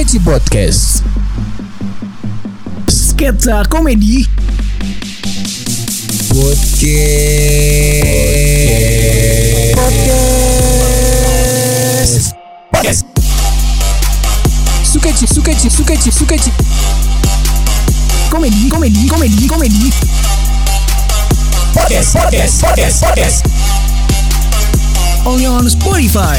Sukeci Podcast. Sketsa komedi Podcast. Sukeci. Komedi. Podcast. Only on Spotify.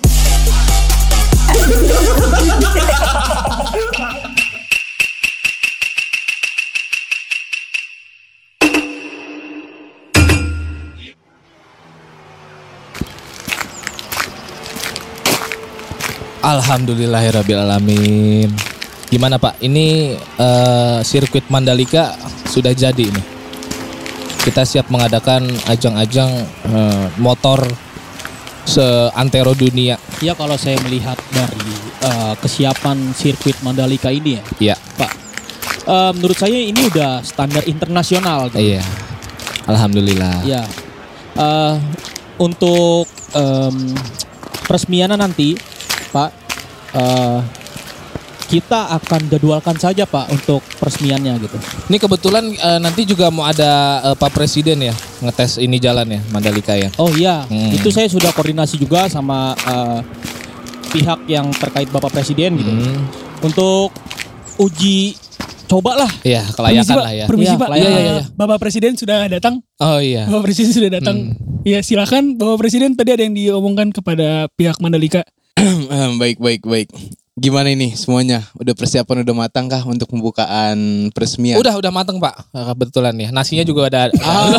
Alhamdulillahirrabbilalamin. Gimana Pak? Ini sirkuit Mandalika sudah jadi nih. Kita siap mengadakan ajang-ajang motor seantero dunia. Ya kalau saya melihat dari kesiapan sirkuit Mandalika ini Iya. Pak, menurut saya ini udah standar internasional gitu. Iya. Alhamdulillah. Ya, untuk peresmiannya nanti Pak, kita akan jadwalkan saja Pak untuk peresmiannya gitu. Ini kebetulan nanti juga mau ada Pak Presiden ya ngetes ini jalan ya Mandalika ya. Oh iya, itu saya sudah koordinasi juga sama pihak yang terkait Bapak Presiden gitu. Untuk uji coba lah. Iya, kelayakan lah ya. Permisi Ya, Pak, iya. Bapak Presiden sudah datang. Oh iya. Bapak Presiden sudah datang. Ya silakan Bapak Presiden, tadi ada yang diomongkan kepada pihak Mandalika. Baik. Gimana ini semuanya? Udah persiapan udah matang kah untuk pembukaan peresmian? Udah mateng Pak. Kebetulan ya. Nasinya juga ada.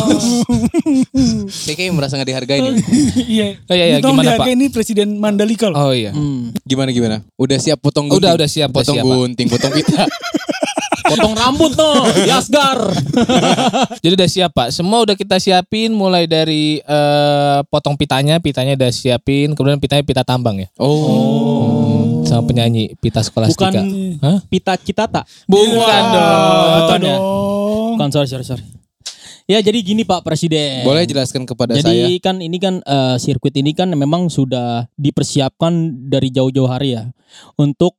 Saya kayak merasa gak dihargai nih. Iya. Iya, gimana, Pak? Ini Presiden Mandalika loh. Oh iya. Gimana? Udah siap potong gunting? Udah siap. Potong gunting, potong pita. Potong rambut no, Yasgar. Jadi udah siap Pak. Semua udah kita siapin mulai dari potong pitanya udah siapin, kemudian pitanya pita tambang ya. Sama penyanyi pita skolastika. Bukan Hah? Pita Citata. Bukan Bukan ya? Dong. Bukan, sorry. Ya jadi gini Pak Presiden. Boleh jelaskan kepada saya? Jadi kan ini kan sirkuit ini kan memang sudah dipersiapkan dari jauh-jauh hari ya untuk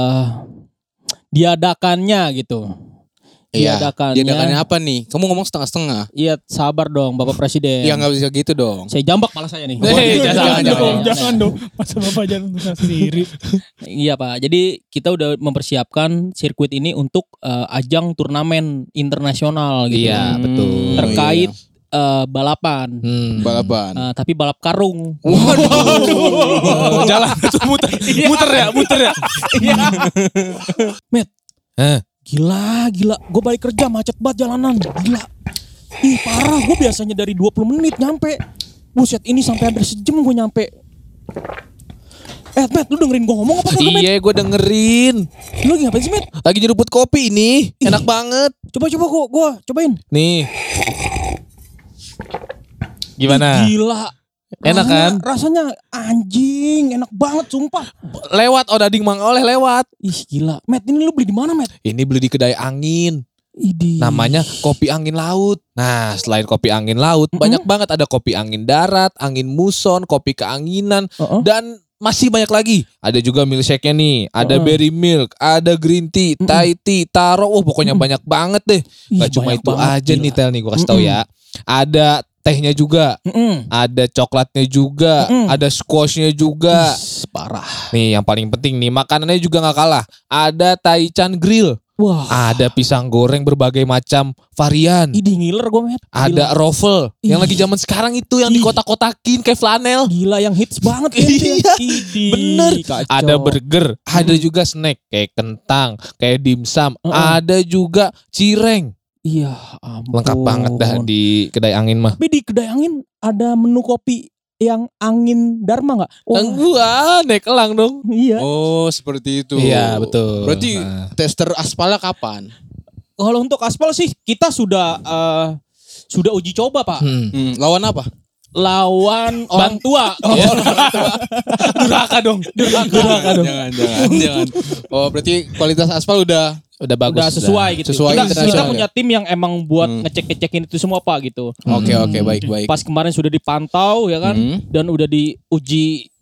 diadakannya gitu. Iya. Diadakannya apa nih? Kamu ngomong setengah-setengah. Iya, sabar dong Bapak Presiden. Ya nggak bisa gitu dong. Saya jambak malah saya nih. Jangan dong. Masa Bapak jangan berusaha sendiri. Iya Pak. Jadi kita udah mempersiapkan sirkuit ini untuk ajang turnamen internasional gitu. Iya, betul. Terkait balapan. Balapan. Tapi balap karung. Jalan itu muter ya. Met. Gila. Gue balik kerja macet banget jalanan. Gila. Ih parah, gue biasanya dari 20 menit nyampe. Buset, ini sampai hampir sejam gue nyampe. Matt, lu dengerin gue ngomong apa kagak, Matt? Iya, gue dengerin. Lu lagi ngapain sih, Matt? Lagi nyeruput kopi ini. Enak banget. Coba gue cobain. Nih. Gimana? Ih, gila. Enak kan? Rasanya anjing, enak banget sumpah. Lewat Odading Mang Oleh lewat. Ih gila. Matt, ini lu beli di mana, Matt? Ini beli di kedai angin. Idih. Namanya kopi angin laut. Nah, selain kopi angin laut, banyak banget ada kopi angin darat, angin muson, kopi keanginan, dan masih banyak lagi. Ada juga milkshake-nya nih, ada berry milk, ada green tea, Thai tea, taro. Pokoknya banyak banget deh. Gak cuma itu banget, aja gila. nih Tel nih, gue kasih tau ya. Ada tehnya juga, ada coklatnya juga, ada squashnya juga. Parah. Nih yang paling penting nih, makanannya juga gak kalah. Ada Taichan Grill. Wah. Ada pisang goreng berbagai macam varian. Idih ngiler gue, Matt. Ada roffle yang lagi zaman sekarang itu yang dikotak-kotakin kayak flanel. Gila yang hits banget ya. Iya, Idih. bener. Kacau. Ada burger, ada juga snack kayak kentang, kayak dimsum, ada juga cireng. Iya ampun. Lengkap banget dah di kedai angin mah. Tapi di kedai angin ada menu kopi yang angin Dharma gak? Gua naik elang dong. Iya. Oh seperti itu. Iya betul. Berarti tester aspalnya kapan? Kalau untuk aspal sih kita sudah uji coba Pak. Lawan apa? Lawan orang tua. Durhaka dong. Jangan. Oh berarti kualitas aspal udah bagus. Udah sesuai gitu. Sesuai Kita internasional punya tim yang emang buat ngecek-ngecekin itu semua Pak gitu. Oke, baik. Pas kemarin sudah dipantau ya kan, dan udah diuji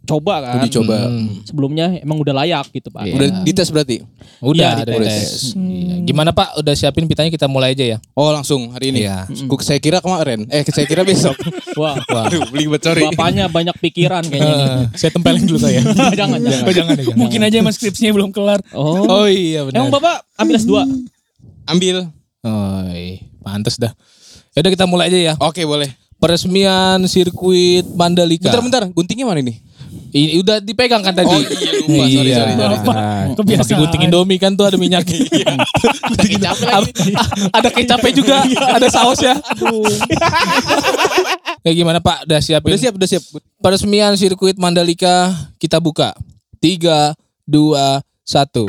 coba kan. Uji coba. Sebelumnya emang udah layak gitu Pak. Iya. Udah dites berarti? Udah, Iya, ada dites. tes. Iya. Gimana Pak? Udah siapin pitanya, kita mulai aja ya. Oh langsung hari ini? Iya. Saya kira kemarin. Saya kira besok. Wah, Aduh, belibet sorry. bapaknya banyak pikiran kayaknya nih. Saya tempelin dulu saya. jangan. Mungkin aja emang skripsinya belum kelar. Oh iya benar. Emang Bapak ambil S2? Ambil. Oh, pantes dah. Yaudah kita mulai aja ya. Oke boleh. Peresmian sirkuit Mandalika. Bentar, guntingnya mana ini? Ini udah dipegang kan tadi? Oh iya, lupa. Sorry. Kebiasaan. Pakai gunting Indomie kan tuh ada minyaknya. Ada kecapnya juga, ada sausnya. Kayak gimana Pak? Udah siapin? Udah siap. Peresmian sirkuit Mandalika kita buka. 3, 2, 1.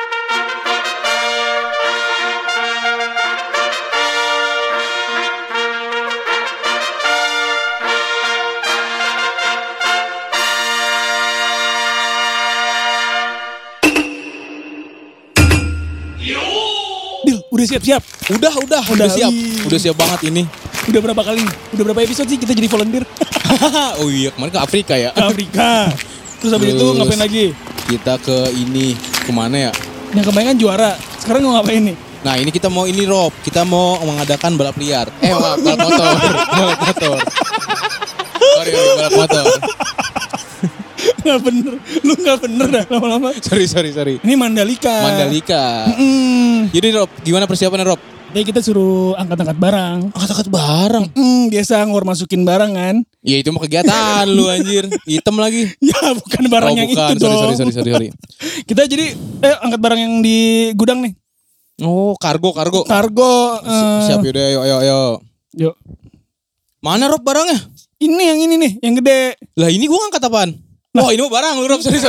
Dil, udah siap-siap. Udah siap. Udah siap banget ini. Udah berapa kali? Udah berapa episode sih kita jadi volunteer Oh iya, kemarin ke Afrika ya. ke Afrika. Terus habis itu ngapain lagi? Kita ke ini, kemana ya? Yang kemarin kan juara. Sekarang mau ngapain nih? Nah ini kita mau ini Rob, kita mau mengadakan balap liar. Balap motor. Balap motor. Sorry, balap motor. Nggak bener. Lu nggak bener dah lama-lama. Sorry. Ini Mandalika. Jadi Rob, gimana persiapannya Rob? Jadi kita suruh angkat-angkat barang. Angkat-angkat barang. Biasa ngor masukin barang kan. Ya itu mah kegiatan lu anjir. Hitam lagi. Ya bukan barang yang bukan. itu dong. Sorry. Kita jadi angkat barang yang di gudang nih. Oh, kargo. Kargo. Siap yaudah, ayo. Yuk. Mana Rob barangnya? Ini yang ini nih, yang gede. Lah ini gua ngangkat apaan? Oh ini mah barang lu Rob. Sorry.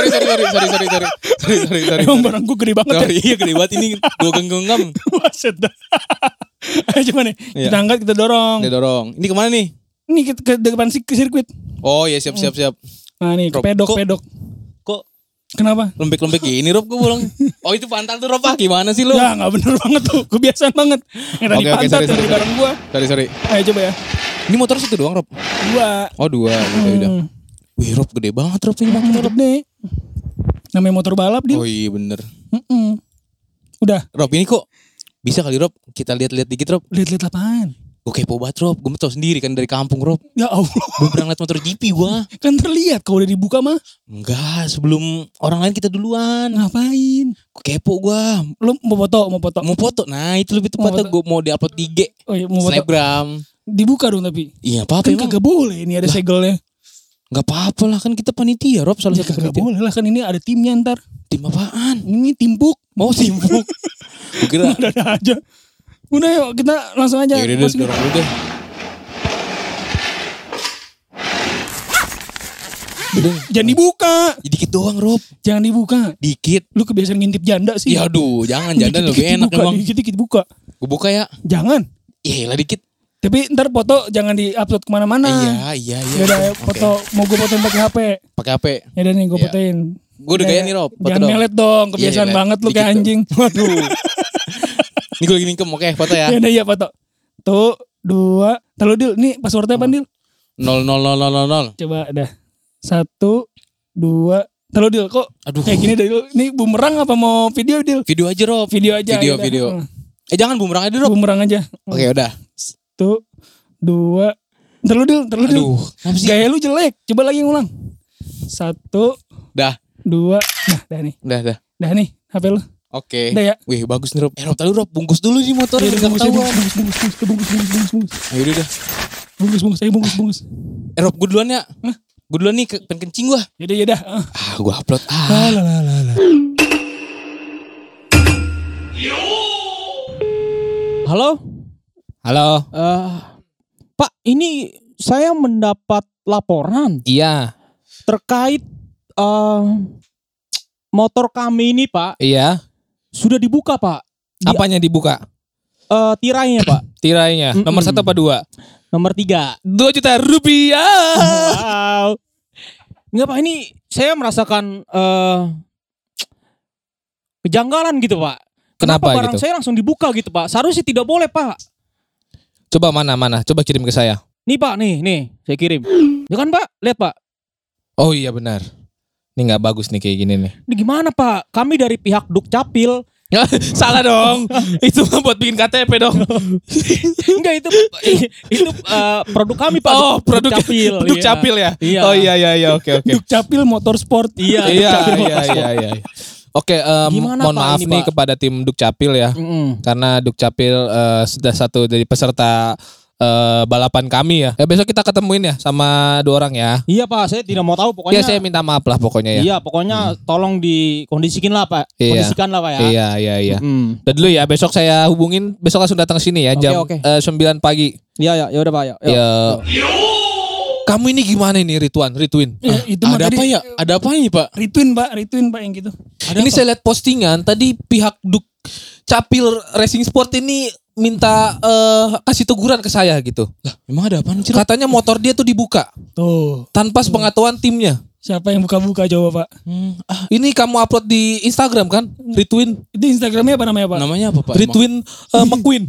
Emang barang gue gede banget Sorry, iya gede banget ini. Gua genggam. Buset dah. Ayo coba nih, Iya. kita angkat, kita dorong. Dia dorong. Ini kemana nih? Ini ke depan sirkuit. Oh iya siap. Nah nih, ke Rob, pedok. Kok Kenapa? lembek-lembek gini Rob gua bolong. Oh itu pantat tuh Rob gimana sih lu? Ya nggak bener banget tuh, kebiasaan banget. Yang tadi Oke, pantat sorry. dari barang gua. Sorry. Ayo coba ya. Ini motor satu doang Rob? 2. Oh 2, udah. Wih Rob gede banget Rob ini motor. Nih. Namanya motor balap dia. Oh iya bener. Udah, Rob ini kok bisa kali Rob kita lihat-lihat dikit Rob. lihat-lihat apaan? Gue kepo banget Rob. Gue tau sendiri kan dari kampung Rob. Ya Allah, Belum pernah liat motor GP gue. kan terlihat kalau udah dibuka mah. Enggak, sebelum orang lain kita duluan. Ngapain? Gue kepo gue. Lu mau foto? Mau foto. Nah itu lebih tepatnya Mau foto. gue mau di-upload di IG. Oh iya, mau foto. Snapgram. Dibuka dong tapi. Iya apa-apa Kan emang. kagak boleh, ini ada segelnya. Gak apa-apa lah kan kita panitia Rob. Salah Ya satu kagak panitia. boleh lah, kan ini ada timnya ntar. Tim apaan? Ini timpuk. Oh timbuk. Gue kira. Ada aja. Udah yuk, kita langsung aja. Yaudah Masukin. dorong dulu deh. Jangan dibuka. Dikit doang Rob. Jangan dibuka. Dikit. Lu kebiasaan ngintip janda sih. Ya aduh jangan janda lebih enak dibuka, emang. Dikit-dikit buka. Gue buka ya. Jangan. Iya lah dikit. Tapi ntar foto jangan di-upload kemana-mana. Iya. Yaudah ayo, foto. Mau gue fotoin pakai HP. Pakai HP. Yaudah nih gue Iya. fotoin. Gue udah gaya nih Rob. Foto Jangan dong. melet dong. Kebiasaan Iya, banget lu dikit kayak dong. anjing. Waduh. Ini gue lagi ningkem. Oke foto ya. Yaudah iya foto. Tuh, 2. Lalu Dil, nih passwordnya apa Dil? 00000. Coba dah. 1, 2. Lalu Dil kok Aduh. kayak gini Dil. Ini bumerang apa mau video Dil? Video aja Rob. Video aja. Video, yaudah. video. Jangan bumerang aja Rob. Bumerang aja. Oke udah. 1, 2. Ntar lu Dil. Aduh. Kenapa sih? Gaya lu jelek. Coba lagi ngulang. 1, Dah. 2. Nah, dah nih. Dah. Dah nih HP lu. Oke. Udah ya? Wih bagus nih Rob. Rob tadi Rob bungkus dulu nih motor. Iya, Nggak bungkus, ketahuan. bungkus. Ayo udah. Bungkus. Rob gue duluan ya. Gue duluan nih pengen kencing gue. Yaudah. Gue upload. Halo? Halo. Pak, ini saya mendapat laporan Iya. terkait motor kami ini Pak. Iya. Sudah dibuka Pak. Apanya dibuka? Tirainya Pak. Tirainya. Nomor 1 apa 2? Nomor 3. 2 juta rupiah. Wow. Enggak Pak, ini saya merasakan kejanggalan gitu Pak. Kenapa barang gitu? saya langsung dibuka gitu Pak? Seharusnya tidak boleh Pak. Coba mana? Coba kirim ke saya. Nih Pak, nih, saya kirim. Ya kan Pak, lihat Pak. Oh iya benar. Ini nggak bagus nih kayak gini nih. Ini gimana Pak? Kami dari pihak Dukcapil. Salah dong. Itu mah buat bikin KTP dong. Enggak itu produk kami Pak. Oh, produk Dukcapil. Dukcapil ya. Iya. Oh iya oke. Dukcapil Motorsport. Iya. Iya. Oke, Gimana, mohon Pak, maaf ini, nih Pak? kepada tim Dukcapil ya. Karena Dukcapil sudah satu dari peserta balapan kami ya. Besok kita ketemuin ya sama 2 orang ya. Iya Pak, saya tidak mau tahu pokoknya. Ya saya minta maaf lah pokoknya ya. Iya, pokoknya tolong dikondisikan lah Pak. Iya. Kondisikan lah Pak ya. Iya. Udah dulu ya, besok saya hubungin, besok langsung datang ke sini ya jam Oke. 9 pagi. Iya, ya udah Pak, ya. Ya. Kamu ini gimana ini Ridwan? Ya, itu mah Ada tadi apa ya? Ada apa ini Pak? Retweet Pak yang gitu. Ini saya lihat postingan tadi pihak Dukcapil Racing Sport ini minta kasih teguran ke saya gitu. Lah, memang ada apa nih? Katanya motor dia tuh dibuka Tuh, tanpa sepengetahuan timnya. siapa yang buka-buka coba Pak? Ini kamu upload di Instagram kan? Ritwin. Itu Instagramnya apa namanya Pak? Namanya apa Pak? Ritwin McQueen.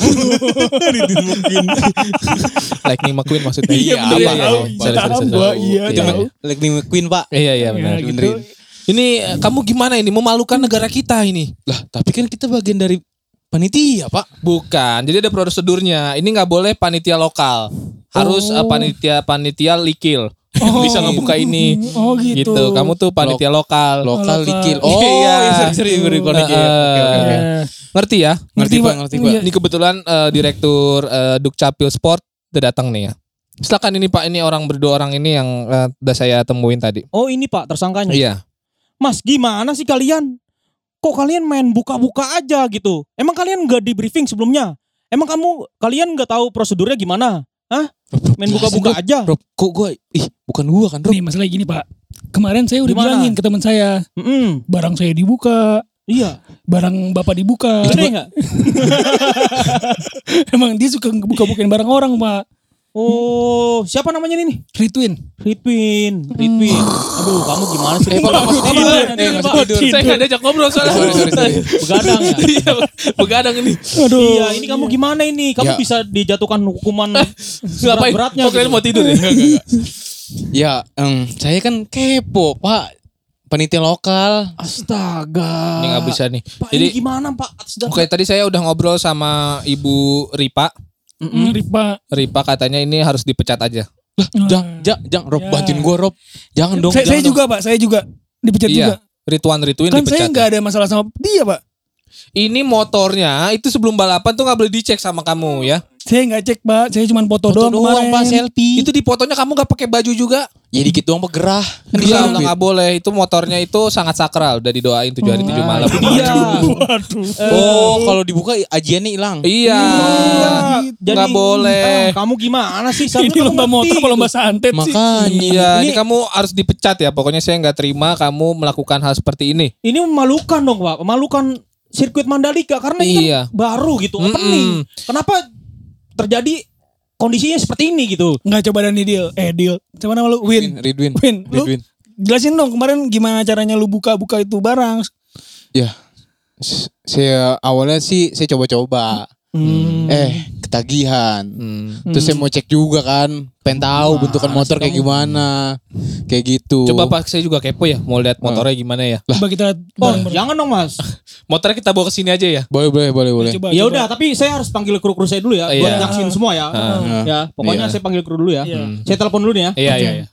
Lightning McQueen maksudnya. Iya, apa? bener, Iya, tahu, sorry. Mbak, iya, Iya, tahu. Lightning McQueen Pak. Iya benar. Ya, gitu. benerin. Ini kamu gimana ini memalukan negara kita ini? Lah, tapi kan kita bagian dari panitia Pak. Bukan. Jadi ada prosedurnya. Ini nggak boleh panitia lokal. Harus panitia likil. Bisa ngebuka ini. Oh gitu. Gitu. Kamu tuh panitia lokal. Lokal Lokal. likil. Iya. Seri beri konek. Oke. Eh, Ngerti ya? Ngerti Pak, Pak. ngerti Pak. Iya. Ini kebetulan Direktur Dukcapil Sport udah datang nih ya. Silakan ini Pak, ini orang berdua orang ini yang udah saya temuin tadi. Oh, ini Pak tersangkanya. Iya. Mas, gimana sih kalian? Kok kalian main buka-buka aja gitu? Emang kalian nggak di briefing sebelumnya? Emang kalian nggak tahu prosedurnya gimana? Hah? Main buka-buka aja. Rob, kok gue bukan gua kan, Rob. Nih masalah gini Pak. Kemarin saya udah Gimana? bilangin ke teman saya, barang saya dibuka, Iya. barang bapak dibuka. Gede nggak? Emang dia suka buka-bukain barang orang Pak. Oh, siapa namanya ini? Ritwin. Ritwin. Aduh, kamu gimana sih? Pak, masuk tidur. Masuk tidur. Saya nggak diajak ngobrol soalnya. Sorry. Begadang ya? Iya, begadang ini. Aduh. Iya, ini kamu gimana ini? Kamu Ya. bisa dijatuhkan hukuman Ngapain? berat-beratnya. Kok kalian gitu. mau tidur ya? Ya, saya kan kepo, Pak. Panitia lokal. Astaga. Ini nggak bisa nih. Pak, Jadi ini gimana Pak? Atas dasar- oke, tadi saya udah ngobrol sama Ibu Ripa. Ripa. Ripa katanya ini harus dipecat aja. Jangan, Rob, Ya. bantuin gue, Rob. Jangan dong. Saya jangan juga Pak, saya juga dipecat juga. Iya. Ritwin Kan saya dipecat. nggak ada masalah sama dia Pak. Ini motornya itu sebelum balapan tuh nggak boleh dicek sama kamu ya. Saya nggak cek Pak, saya cuma foto doang kemarin. Pak, selfie. Itu di fotonya kamu nggak pakai baju juga. Ya dikit doang Pak, gerah. Kan Iya, disambit. nggak boleh. Itu motornya itu sangat sakral. Udah didoain 7 hari 7 malam. Iya. Waduh. Oh, kalau dibuka ajiannya hilang. Iya. Nggak boleh. Kamu gimana sih? Ini lomba motor apa lomba santet sih? Makanya. Iya, ini kamu harus dipecat ya. Pokoknya saya nggak terima kamu melakukan hal seperti ini. Ini memalukan dong Pak. Memalukan sirkuit Mandalika karena ini Iya. kan baru gitu, opening. Kenapa terjadi kondisinya seperti ini gitu? Nggak coba Dani deal. Coba nama lu Win. Ridwin. Lu jelasin dong kemarin gimana caranya lu buka-buka itu barang. Ya. Saya awalnya sih saya coba-coba. Ketagihan. Terus saya mau cek juga kan, pengen tahu bentukan motor kayak gimana. Kayak gitu. Coba Pak, saya juga kepo ya. Mau lihat motornya gimana ya. Coba kita Oh, bareng-bareng. jangan dong Mas. Motornya kita bawa ke sini aja ya. Boleh. Coba, Ya coba. udah, tapi saya harus panggil kru-kru saya dulu ya, buat Iya. nyaksin semua ya. Ya, pokoknya Iya. saya panggil kru dulu ya. Iya. Saya telepon dulu nih ya. Iya.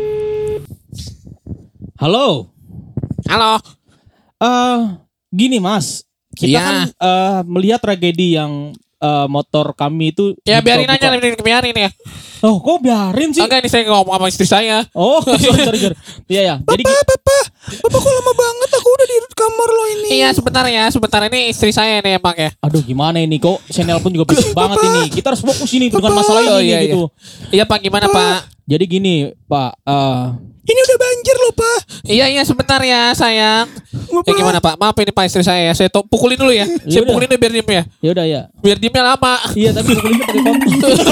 Halo. Halo. Gini Mas, kita Iya. kan melihat tragedi yang motor kami itu. Ya biarin dibuka-buka. aja, biarin ya. Oh, kok biarin sih? Enggak, ini saya ngomong sama istri saya. Oh, sorry. Iya ya. Jadi Bapak kok lama banget? Aku udah di kamar lo ini. Iya, sebentar ini istri saya nih emang ya. aduh gimana ini kok channel pun juga berisik banget ini. Kita harus fokus ini dengan masalah ini Oh, iya, gitu. Iya Pak, gimana Pak? Jadi gini, Pak, Ini udah banjir loh Pak. Iya sebentar ya sayang. Ya gimana Pak? Maaf ini Pak istri saya ya. Saya pukulin dulu ya. Saya Yaudah. pukulin dulu biar diem ya. ya udah ya. Biar diemnya lama. Iya, tapi pukulinnya pakai kopi.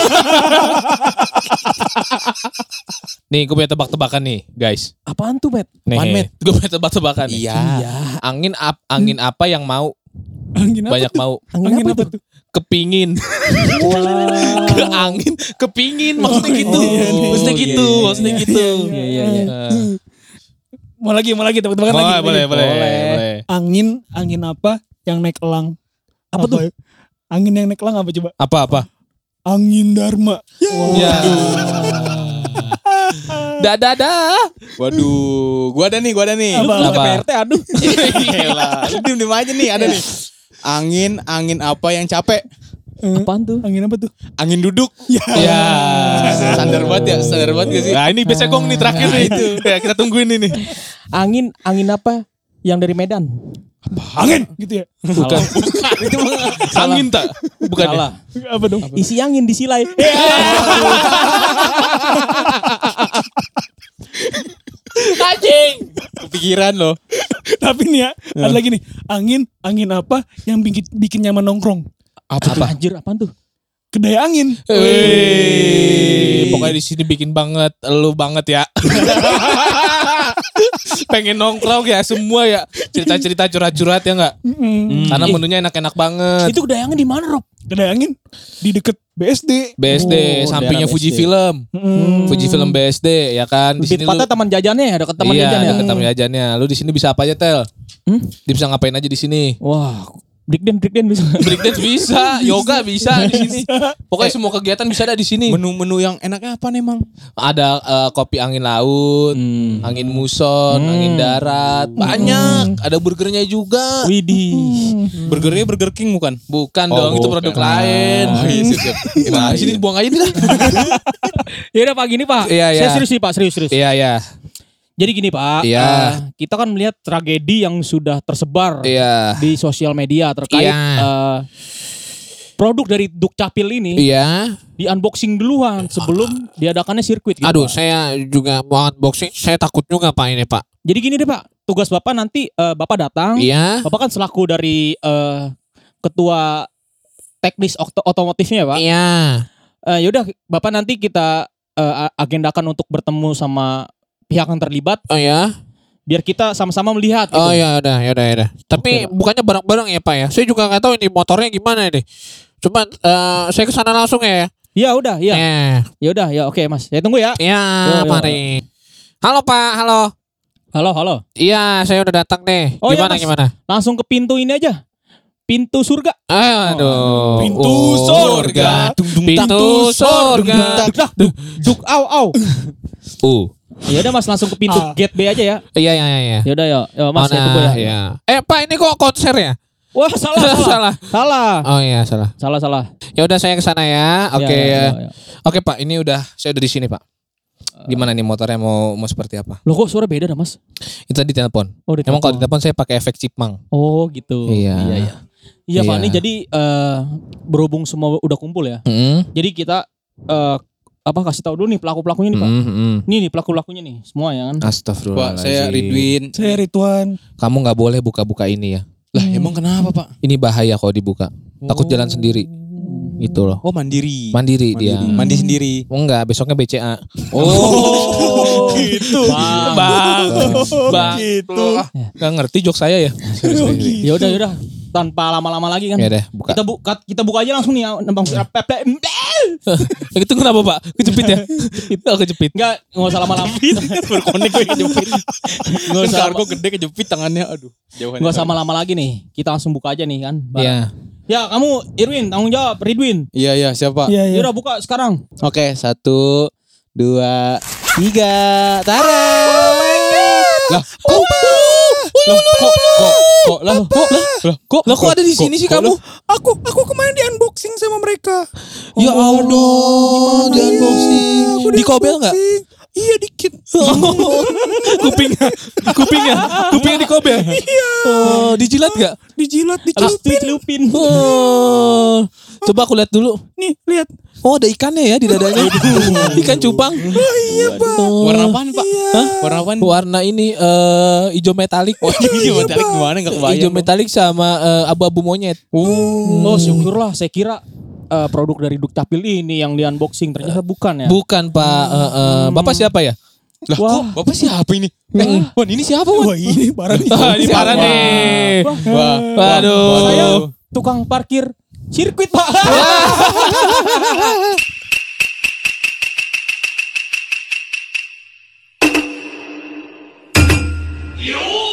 Nih gue punya tebak-tebakan nih guys. Apaan tuh, Bet? Apaan, Met? Gue punya tebak-tebakan nih. Iya. Angin apa yang mau Angin apa banyak tuh? mau Angin apa tuh? kepingin. Ke angin kepingin maksudnya gitu. Maksudnya gitu, maksudnya gitu. Iya. Mau lagi tebak-tebakan lagi. Boleh. Angin apa yang naik elang? Apa tuh? Angin yang naik elang apa coba? Apa? Angin Dharma. Ya. Dadah. Waduh, gua ada nih. Lu ke PRT aduh. Gila, lu diem aja nih, ada nih. Angin apa yang capek? Apaan tuh? Angin apa tuh? Angin duduk. Ya. Standar banget gak sih? Nah, ini biasa gong nih terakhir nih. Ya, kita tungguin ini. Angin apa yang dari Medan? Angin gitu ya. Bukan. Itu Angin tak? Bukan. Salah. Apa dong? Isi angin disilai. Anjing. kepikiran loh. Tapi nih ya, ada lagi nih. Angin apa yang bikin nyaman nongkrong? Apa? Anjir, apaan tuh? Kedai angin. Pokoknya di sini bikin banget, lu banget ya. Pengen nongkrong ya semua ya. Cerita-cerita curhat-curhat ya enggak? Karena menunya enak-enak banget. Itu kedai angin di mana, Rob? Kedai angin di deket BSD. BSD, sampingnya daerah Fuji BSD. Film. Fuji Film BSD ya kan. Di Di sini lu tempatnya taman jajannya ya, dekat taman jajan ya. dekat taman jajannya. Lu di sini bisa apa aja, Tel? Dia bisa ngapain aja di sini? Wah, breakdance bisa. Breakdance bisa, yoga bisa di sini. Pokoknya semua kegiatan bisa ada di sini. Menu-menu yang enaknya apa nih, Mang? Ada kopi angin laut, angin muson, angin darat, banyak. Ada burgernya juga. Widih. Burgernya Burger King bukan? Bukan Oh, dong, itu bukan. produk lain. Oh, iya, siap. Gimana sini buang aja nih lah. Ya udah Pak gini Pak. Iya, iya. Saya serius nih Pak, serius. Iya, iya. Jadi gini Pak, Iya. kita kan melihat tragedi yang sudah tersebar Iya. di sosial media terkait Iya. produk dari Dukcapil ini Iya. di unboxing duluan sebelum diadakannya sirkuit. Gitu, Aduh, Pak. saya juga mau unboxing. Saya takut juga Pak ini, Pak. Jadi gini deh Pak, tugas Bapak nanti Bapak datang. Iya. Bapak kan selaku dari ketua teknis otomotifnya Pak. Iya. Yaudah Bapak nanti kita agendakan untuk bertemu sama pihak yang terlibat Oh ya. biar kita sama-sama melihat. Gitu. Oh ya udah. Tapi Oke, Pak. bukannya bareng-bareng ya Pak ya? Saya juga nggak tahu ini motornya gimana ini. Cuma saya ke sana langsung ya. Ya udah, ya. Ya udah, ya oke Mas. Saya tunggu ya. Iya, Yo. mari. Halo Pak, halo. Halo. Iya, saya udah datang nih. Oh, iya, Gimana Mas. gimana? Langsung ke pintu ini aja. Pintu surga. Aduh. Pintu surga. Pintu surga. Duk au. Ya udah Mas langsung ke pintu gate B aja ya. Iya. Ya udah ya. Mas saya tunggu ya. Iya. Pak, ini kok konser ya? Wah, salah. Oh iya, salah. Salah. Ya udah saya ke sana ya. Oke. Ya. Oke Pak, ini saya udah di sini Pak. Gimana nih motornya mau seperti apa? Loh kok suara beda dah Mas? Itu tadi telepon. Oh, Emang kalau di telepon saya pakai efek chipmunk. Oh gitu. Iya. Iya Pak, Iya. ini jadi berhubung semua udah kumpul ya. Jadi kita kasih tahu dulu nih pelaku-pelakunya nih Pak. Nih pelaku-pelakunya nih semua ya kan. Astagfirullahaladzim. Pak, saya Ridwin. Saya Ridwan. Kamu nggak boleh buka-buka ini ya. Lah, emang kenapa, Pak? Ini bahaya kalau dibuka. Takut jalan sendiri. Itu loh. Oh, mandiri. Mandiri dia. Mandi sendiri. Oh enggak, besoknya BCA. Oh, gitu. Bang. Gitu. Gak ngerti jok saya ya. Ya udah. Tanpa lama-lama lagi kan. Ya deh, buka. Kita buka aja langsung nih ya. Itu kenapa Pak? Kejepit ya? Itu kejepit. Enggak usah lama-lama. berkonek gue kejepit. Enggak Kan usah kargo gede kejepit tangannya. Aduh, jauhan. Enggak usah lama-lama lagi nih. Kita langsung buka aja nih kan. Iya. Ya, kamu Irwin tanggung jawab, Ridwin. Iya, siapa? Iya. Ya udah buka sekarang. Oke, 1, 2, 3. Tara. Lah, kok ada di sini sih kamu? Aku kemarin di unboxing sama mereka. Ya Allah, di unboxing. Di kobel nggak? Iya dikit. Kupingnya di kobel. Iya. Oh, dijilat nggak? Dijilat, Habis dicelupin. dicelupin. Oh, coba aku lihat dulu. Nih, lihat. Oh, ada ikannya ya di dadanya. Ikan cupang. Oh iya, Pak. Warna apaan, Pak? Hah? Warna apaan? Warna ini hijau metalik. Oh, iya, metalik gimana enggak kebayang. Hijau metalik sama abu-abu monyet. Oh, syukurlah. Saya kira produk dari Dukcapil ini yang di unboxing ternyata bukan ya. Bukan Pak. Bapak siapa ya? Lah, kok Bapak siapa ini? Wan, ini siapa, Wan? Wah, ini parah nih. Ini parah nih. Wah. Waduh. Saya tukang parkir sirkuit Pak. 有